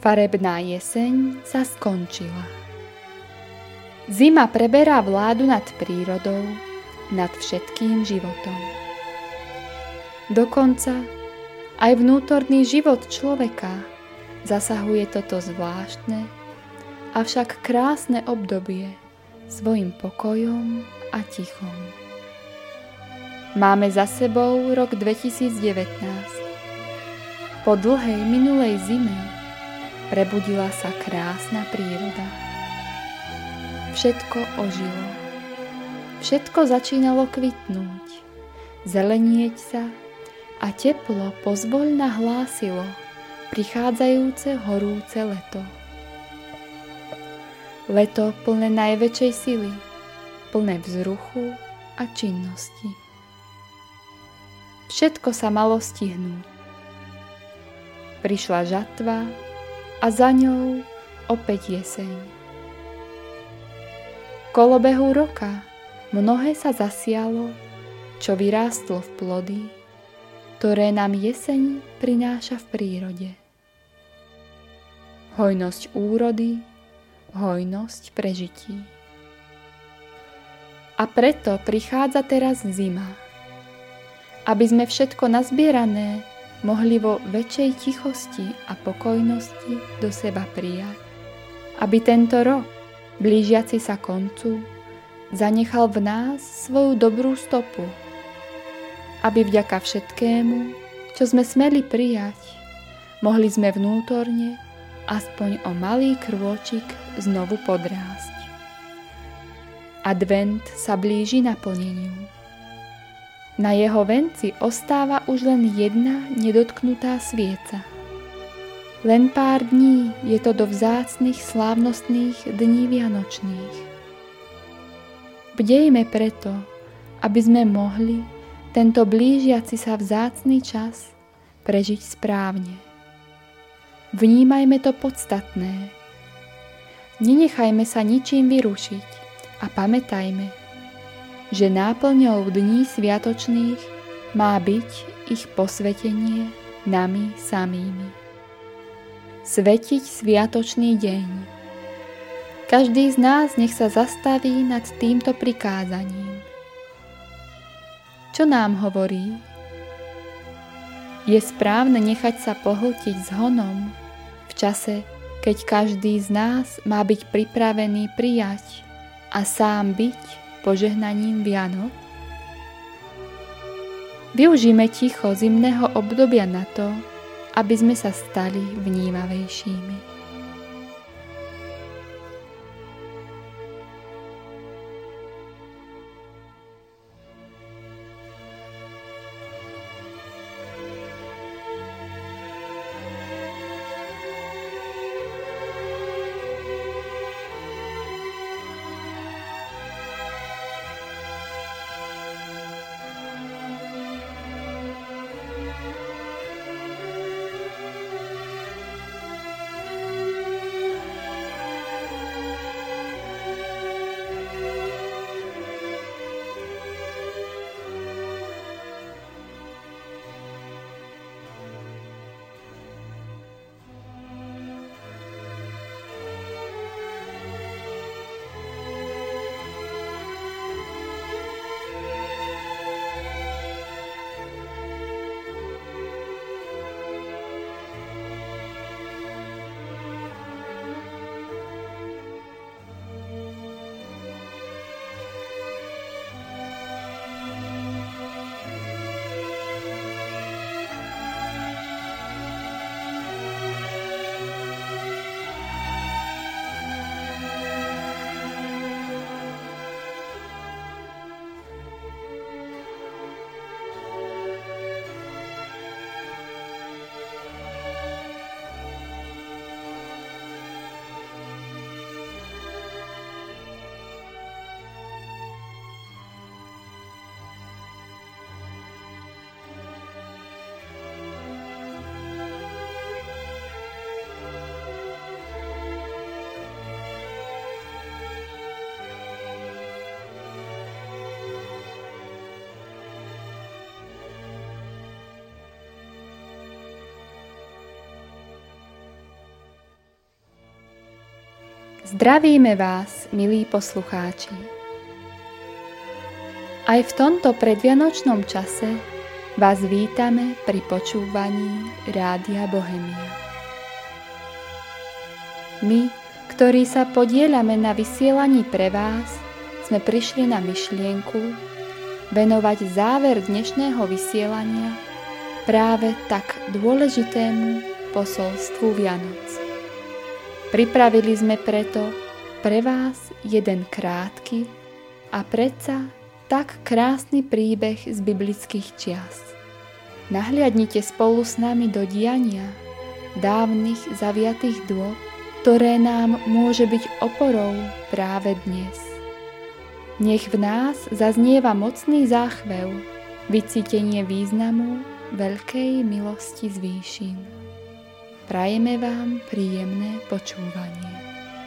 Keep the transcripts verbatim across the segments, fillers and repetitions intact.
Farebná jeseň sa skončila. Zima preberá vládu nad prírodou, nad všetkým životom. Dokonca aj vnútorný život človeka zasahuje toto zvláštne, avšak krásne obdobie svojim pokojom a tichom. Máme za sebou rok dvetisícdevätnásť. Po dlhej minulej zime prebudila sa krásna príroda. Všetko ožilo. Všetko začínalo kvitnúť, zelenieť sa a teplo pozvoľna hlásilo prichádzajúce horúce leto. Leto plné najväčšej sily, plné vzruchu a činnosti. Všetko sa malo stihnúť. Prišla žatva a za ňou opäť jeseň. V kolobehu roka mnohé sa zasialo, čo vyrástlo v plody, ktoré nám jeseň prináša v prírode. Hojnosť úrody, hojnosť prežití. A preto prichádza teraz zima, aby sme všetko nazbierané mohli vo väčšej tichosti a pokojnosti do seba prijať. Aby tento rok, blížiaci sa koncu, zanechal v nás svoju dobrú stopu. Aby vďaka všetkému, čo sme smeli prijať, mohli sme vnútorne aspoň o malý krôčik znovu podrásť. Advent sa blíži naplneniu. Na jeho venci ostáva už len jedna nedotknutá svieca. Len pár dní je to do vzácnych slávnostných dní vianočných. Bdejme preto, aby sme mohli tento blížiaci sa vzácny čas prežiť správne. Vnímajme to podstatné. Nenechajme sa ničím vyrušiť a pamätajme, že náplňou dní sviatočných má byť ich posvetenie nami samými. Svetiť sviatočný deň. Každý z nás nech sa zastaví nad týmto prikázaním. Čo nám hovorí? Je správne nechať sa pohltiť zhonom v čase, keď každý z nás má byť pripravený prijať a sám byť požehnaním Vianoc? Využíme ticho zimného obdobia na to, aby sme sa stali vnímavejšími. Zdravíme vás, milí poslucháči. Aj v tomto predvianočnom čase vás vítame pri počúvaní Rádia Bohemia. My, ktorí sa podieľame na vysielaní pre vás, sme prišli na myšlienku venovať záver dnešného vysielania práve tak dôležitému posolstvu Vianoc. Pripravili sme preto pre vás jeden krátky a predsa tak krásny príbeh z biblických čias. Nahliadnite spolu s nami do diania dávnych zaviatých dôb, ktoré nám môže byť oporou práve dnes. Nech v nás zaznieva mocný záchvev, vycítenie významu veľkej milosti z výšin. Prajeme vám príjemné počúvanie.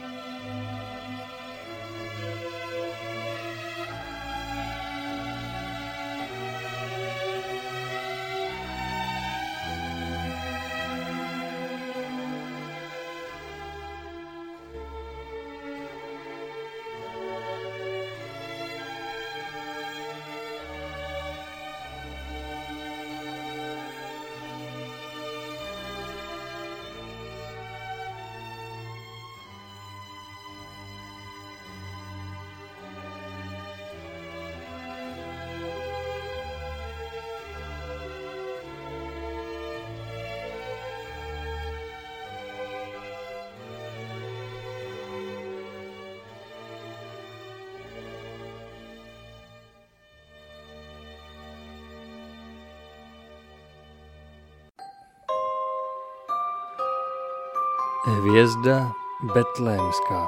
Hvězda betlémská.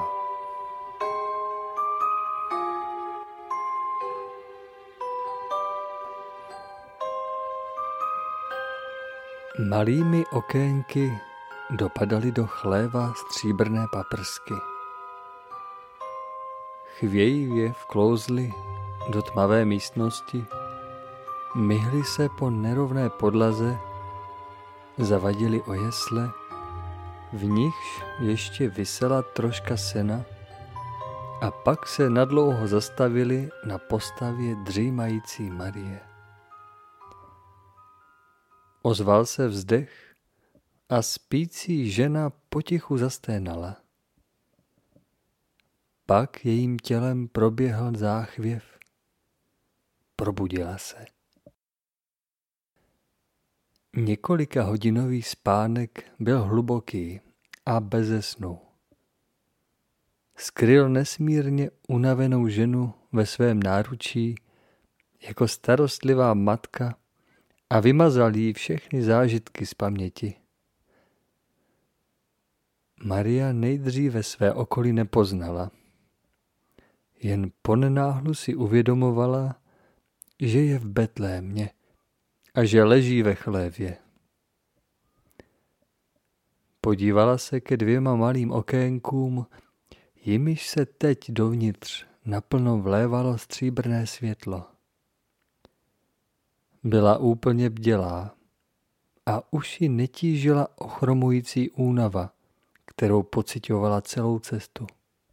Malými okénky dopadaly do chléva stříbrné paprsky. Chvějivě vklouzly do tmavé místnosti, myhly se po nerovné podlaze, zavadili o jesle, v nichž ještě visela troška sena, a pak se nadlouho zastavili na postavě dřímající Marie. Ozval se vzdech a spící žena potichu zasténala. Pak jejím tělem proběhl záchvěv. Probudila se. Několika hodinový spánek byl hluboký a beze snu. Skryl nesmírně unavenou ženu ve svém náručí jako starostlivá matka a vymazal jí všechny zážitky z paměti. Maria nejdříve své okolí nepoznala. Jen ponenáhlu si uvědomovala, že je v Betlémě a že leží ve chlévě. Podívala se ke dvěma malým okénkům, jimiž se teď dovnitř naplno vlévalo stříbrné světlo. Byla úplně bdělá a už ji netížila ochromující únava, kterou pociťovala celou cestu.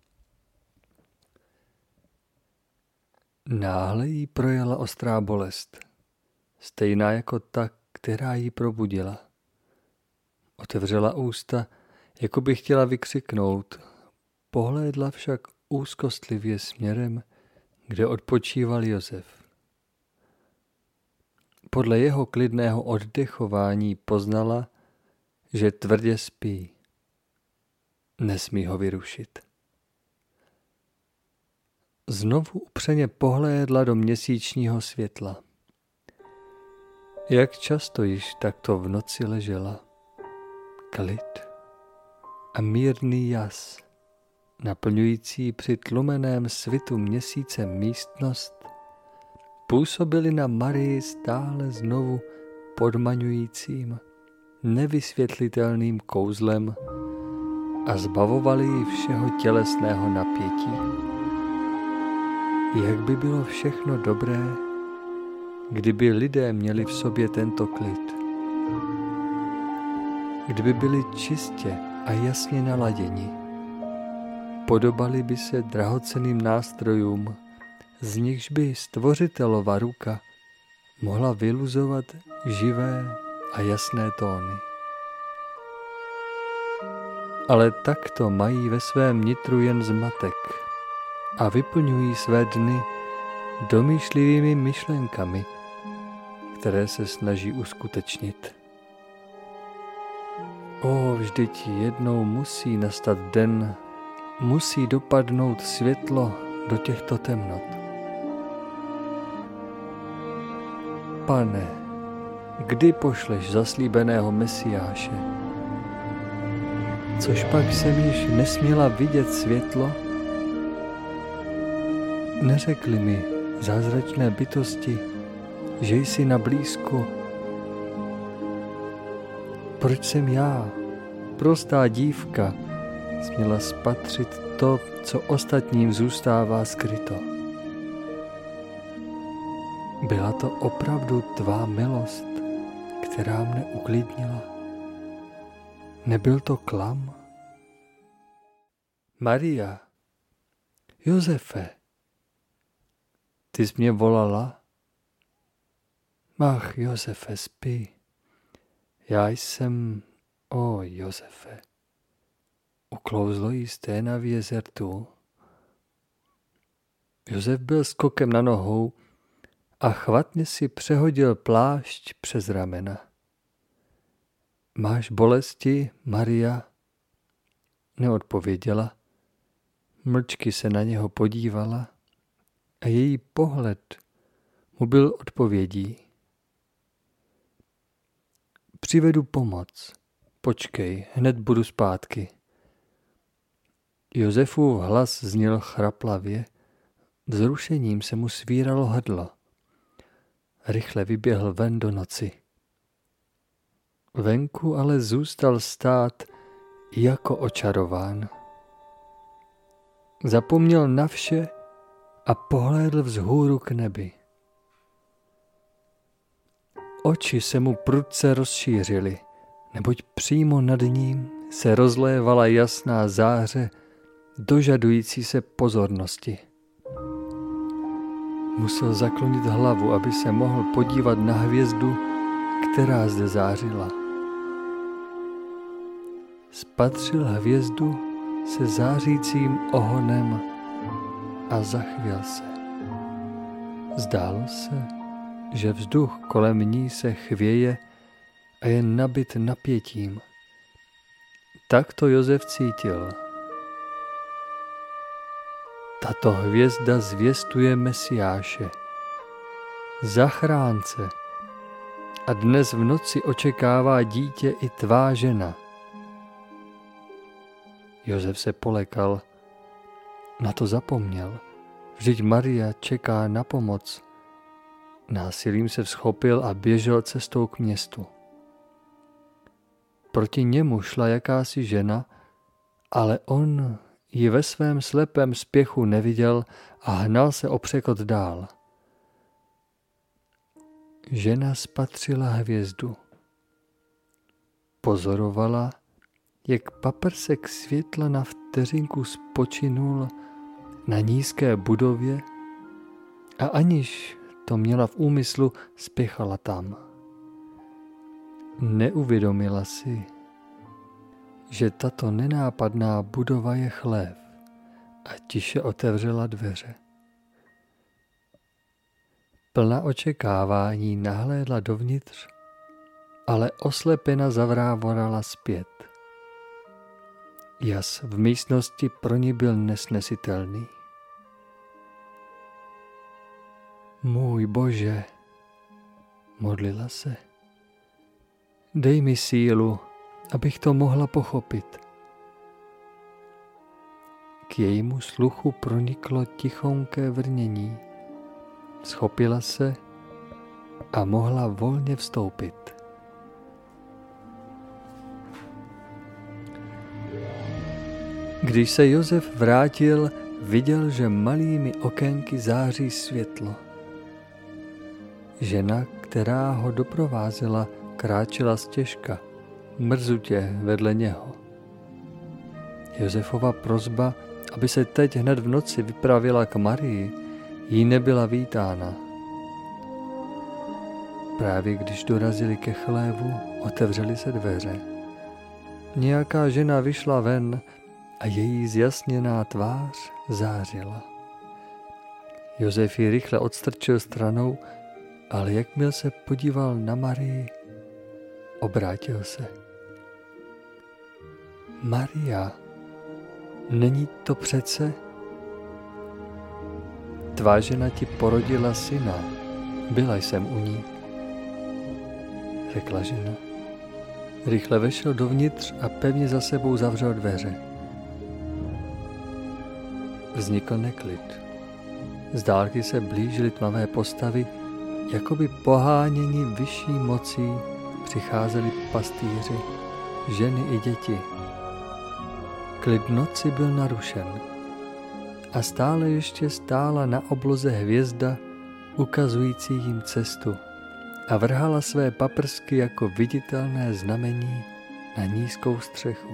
Náhle jí projela ostrá bolest, stejná jako ta, která ji probudila. Otevřela ústa, jako by chtěla vykřiknout, pohlédla však úzkostlivě směrem, kde odpočíval Josef. Podle jeho klidného oddechování poznala, že tvrdě spí. Nesmí ho vyrušit. Znovu upřeně pohlédla do měsíčního světla. Jak často již takto v noci ležela. Klid a mírný jas, naplňující při tlumeném svitu měsíce místnost, působily na Marii stále znovu podmaňujícím, nevysvětlitelným kouzlem a zbavovaly ji všeho tělesného napětí. Jak by bylo všechno dobré, kdyby lidé měli v sobě tento klid. Kdyby byli čistě a jasně naladěni. podobaly by se drahocenným nástrojům, z nichž by stvořitelova ruka mohla vyluzovat živé a jasné tóny. Ale takto mají ve svém nitru jen zmatek a vyplňují své dny domýšlivými myšlenkami, které se snaží uskutečnit. O, vždyť jednou musí nastat den, musí dopadnout světlo do těchto temnot. Pane, kdy pošleš zaslíbeného Mesiáše? Což pak jsem již nesměla vidět světlo? Neřekli mi zázračné bytosti, že jsi na blízku. Proč jsem já, prostá dívka, směla spatřit to, co ostatním zůstává skryto? Byla to opravdu tvá milost, která mne uklidnila? Nebyl to klam? Maria, Josefe, ty jsi mě volala? Ach, Josefe, spí. Já jsem, o Josefe, uklouzlo jí sténa v jezertu. Josef byl skokem na nohou a chvatně si přehodil plášť přes ramena. Máš bolesti, Maria? Neodpověděla. Mlčky se na něho podívala a její pohled mu byl odpovědí. Přivedu pomoc. Počkej, hned budu zpátky. Josefův hlas zněl chraplavě, vzrušením se mu svíralo hrdlo. Rychle vyběhl ven do noci. Venku ale zůstal stát jako očarován. Zapomněl na vše a pohlédl vzhůru k nebi. Oči se mu prudce rozšířily, neboť přímo nad ním se rozlévala jasná záře dožadující se pozornosti. Musel zaklonit hlavu, aby se mohl podívat na hvězdu, která zde zářila. Spatřil hvězdu se zářícím ohonem a zachvěl se. Zdálo se, že vzduch kolem ní se chvěje a je nabit napětím. Tak to Josef cítil. Tato hvězda zvěstuje Mesiáše, zachránce, a dnes v noci očekává dítě i tvá žena. Josef se polekal, na to zapomněl, vždyť Maria čeká na pomoc. Násilím se vzchopil a běžel cestou k městu. Proti němu šla jakási žena, ale on ji ve svém slepém spěchu neviděl a hnal se o překot dál. Žena spatřila hvězdu. Pozorovala, jak paprsek světla na vteřinku spočinul na nízké budově a aniž to měla v úmyslu, spěchala tam. Neuvědomila si, že tato nenápadná budova je chlév, a tiše otevřela dveře. Plná očekávání nahlédla dovnitř, ale oslepena zavrávorala zpět. Jas v místnosti pro ní byl nesnesitelný. Můj Bože, modlila se, dej mi sílu, abych to mohla pochopit. K jejímu sluchu proniklo tichonké vrnění. Schopila se a mohla volně vstoupit. Když se Josef vrátil, viděl, že malými okénky září světlo. Žena, která ho doprovázela, kráčela stěžka, mrzutě vedle něho. Josefova prosba, aby se teď hned v noci vypravila k Marii, jí nebyla vítána. Právě když dorazili ke chlévu, otevřely se dveře. Nějaká žena vyšla ven a její zjasněná tvář zářila. Josef ji rychle odstrčil stranou, ale jakmile se podíval na Marii, obrátil se. Maria, není to přece? Tvá žena ti porodila syna, byla jsem u ní, řekla žena. Rychle vešel dovnitř a pevně za sebou zavřel dveře. Vznikl neklid. Z dálky se blížily tmavé postavy, jakoby poháněni vyšší mocí přicházeli pastýři, ženy i děti. Klid noci byl narušen a stále ještě stála na obloze hvězda, ukazující jim cestu, a vrhala své paprsky jako viditelné znamení na nízkou střechu.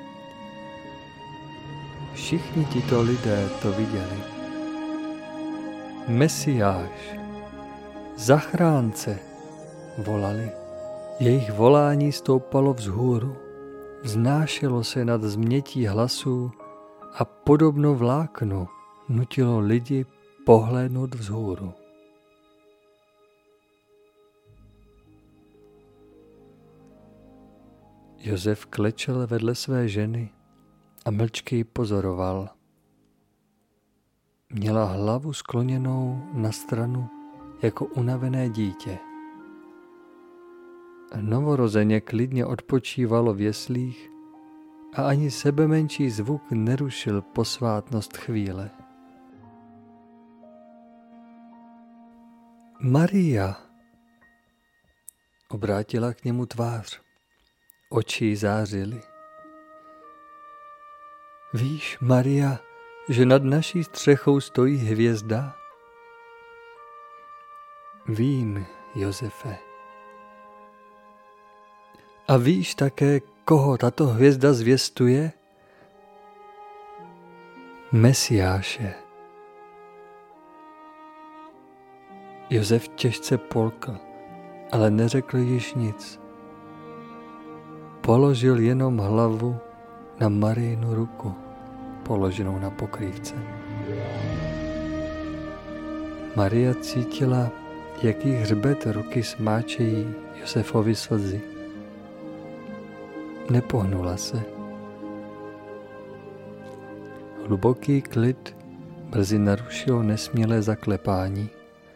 Všichni tito lidé to viděli. Mesiáš, zachránce, volali. Jejich volání stoupalo vzhůru, vznášelo se nad změtí hlasů a podobno vláknu nutilo lidi pohlédnout vzhůru. Josef klečel vedle své ženy a mlčky ji pozoroval. Měla hlavu skloněnou na stranu jako unavené dítě. Novorozeně klidně odpočívalo v jeslích a ani sebemenší zvuk nerušil posvátnost chvíle. Maria, obrátila k němu tvář. Oči zářily. Víš, Maria, že nad naší střechou stojí hvězda? Vím, Josefe. A víš také, koho tato hvězda zvěstuje? Mesiáše. Josef těžce polkl, ale neřekl již nic. Položil jenom hlavu na Marijinu ruku, položenou na pokrývce. Maria cítila, jak jí hřbet ruky smáčejí Josefovi slzy. Nepohnula se. Hluboký klid brzy narušilo nesmělé zaklepání.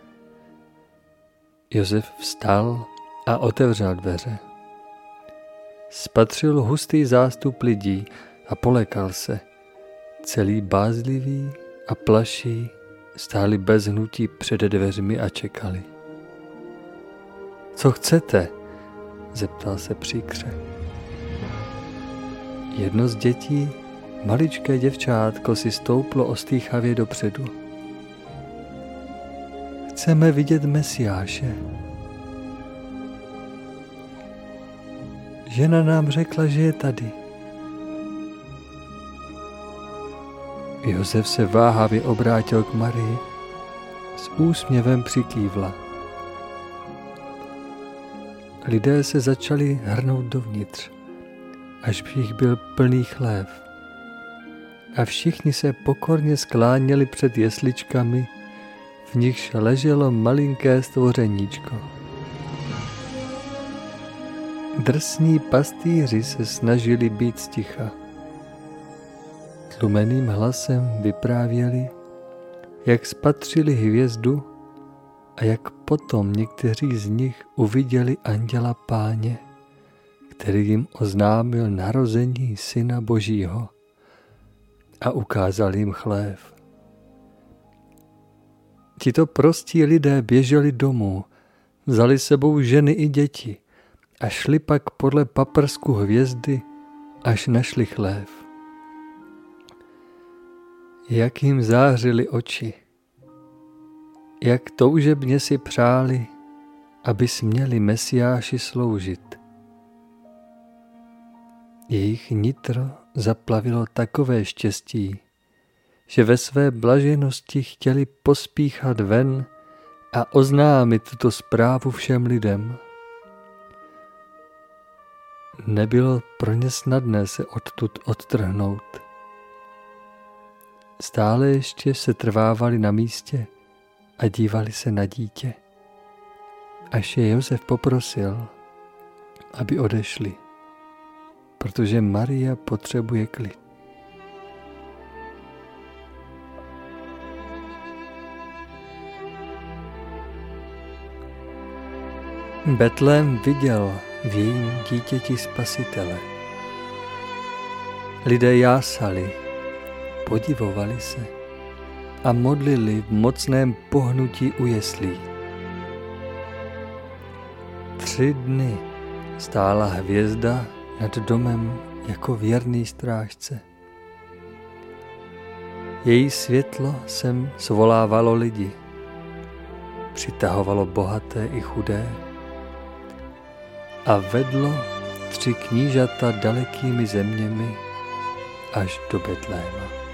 Josef vstal a otevřel dveře. Spatřil hustý zástup lidí a polekal se. Celý bázlivý a plaší stáli bez hnutí před dveřmi a čekali. Co chcete? Zeptal se příkře. Jedno z dětí, maličké děvčátko, si stouplo ostýchavě dopředu. Chceme vidět Mesiáše. Žena nám řekla, že je tady. Josef se váhavě obrátil k Marii, s úsměvem přikývla. Lidé se začali hrnout dovnitř, až by jich byl plný chlév. A všichni se pokorně skláněli před jesličkami, v nichž leželo malinké stvořeníčko. Drsní pastýři se snažili být sticha. Tlumeným hlasem vyprávěli, jak spatřili hvězdu a jak potom někteří z nich uviděli anděla Páně, který jim oznámil narození Syna Božího a ukázal jim chlév. Tito prostí lidé běželi domů, vzali sebou ženy i děti a šli pak podle paprsku hvězdy, až našli chlév. Jak jim zářily oči, jak toužebně si přáli, aby směli Mesiáši sloužit. Jejich nitro zaplavilo takové štěstí, že ve své blaženosti chtěli pospíchat ven a oznámit tuto zprávu všem lidem. Nebylo pro ně snadné se odtud odtrhnout. Stále ještě se trvávali na místě a dívali se na dítě, až je Josef poprosil, aby odešli, protože Maria potřebuje klid. Betlém viděl v jejím dítěti Spasitele. Lidé jásali, podivovali se a modlili v mocném pohnutí u jeslí. Tři dny stála hvězda nad domem jako věrný strážce. Její světlo sem svolávalo lidi, přitahovalo bohaté i chudé a vedlo tři knížata dalekými zeměmi až do Betléma.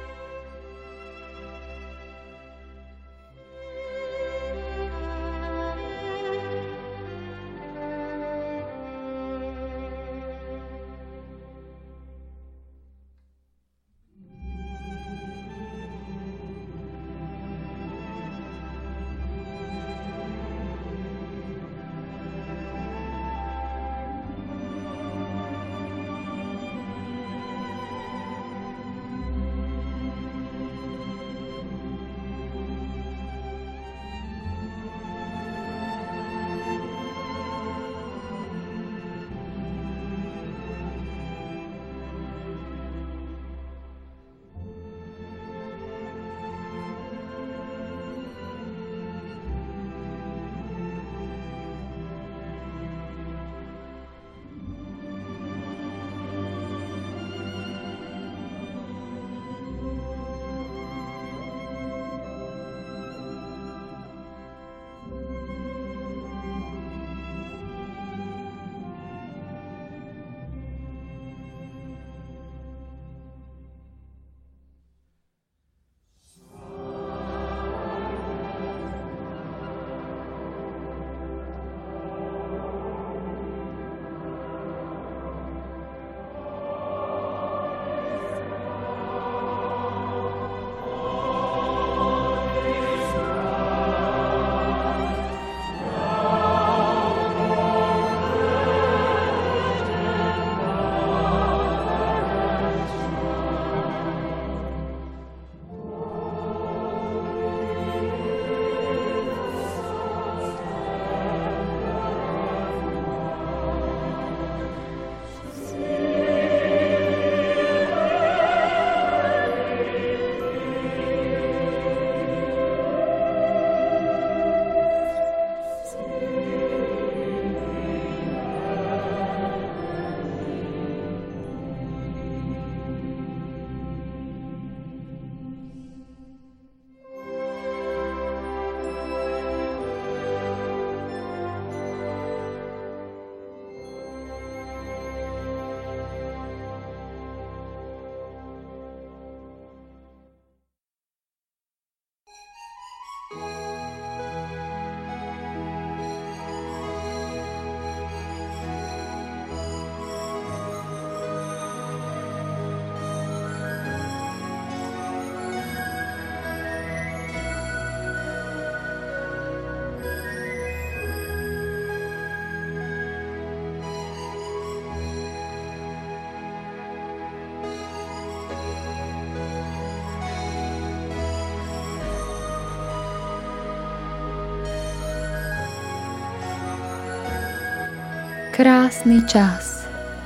Krásny čas.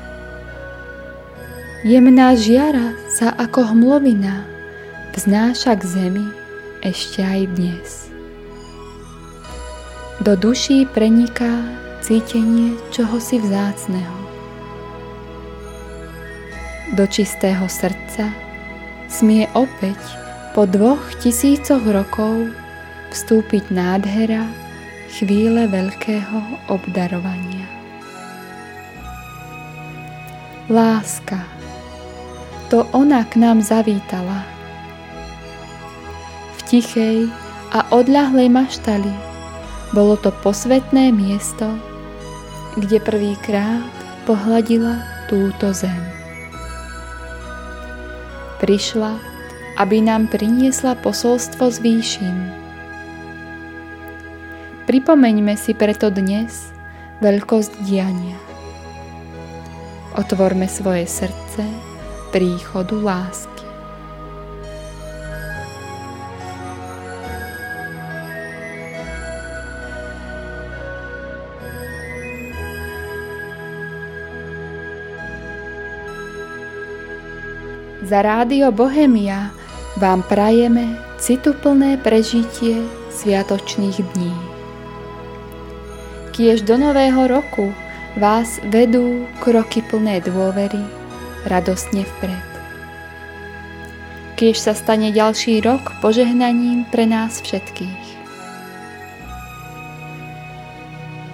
Jemná žiara sa ako hmlovina vznáša k zemi ešte aj dnes. Do duší preniká cítenie čohosi vzácneho. Do čistého srdca smie opäť po dvoch tisícoch rokov vstúpiť nádhera chvíle veľkého obdarovania. Láska, to ona k nám zavítala, tichej a odľahlej maštali. Bolo to posvätné miesto, kde prvýkrát pohľadila túto zem. Prišla, aby nám priniesla posolstvo z výšin. Pripomeňme si preto dnes veľkosť diania. Otvorme svoje srdce príchodu lásky. Za Rádio Bohemia vám prajeme cituplné prežitie sviatočných dní. Kiež do nového roku vás vedú kroky plné dôvery radostne vpred. Kiež sa stane ďalší rok požehnaním pre nás všetkých.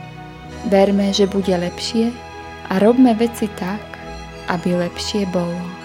Verme, že bude lepšie a robme veci tak, aby lepšie bolo.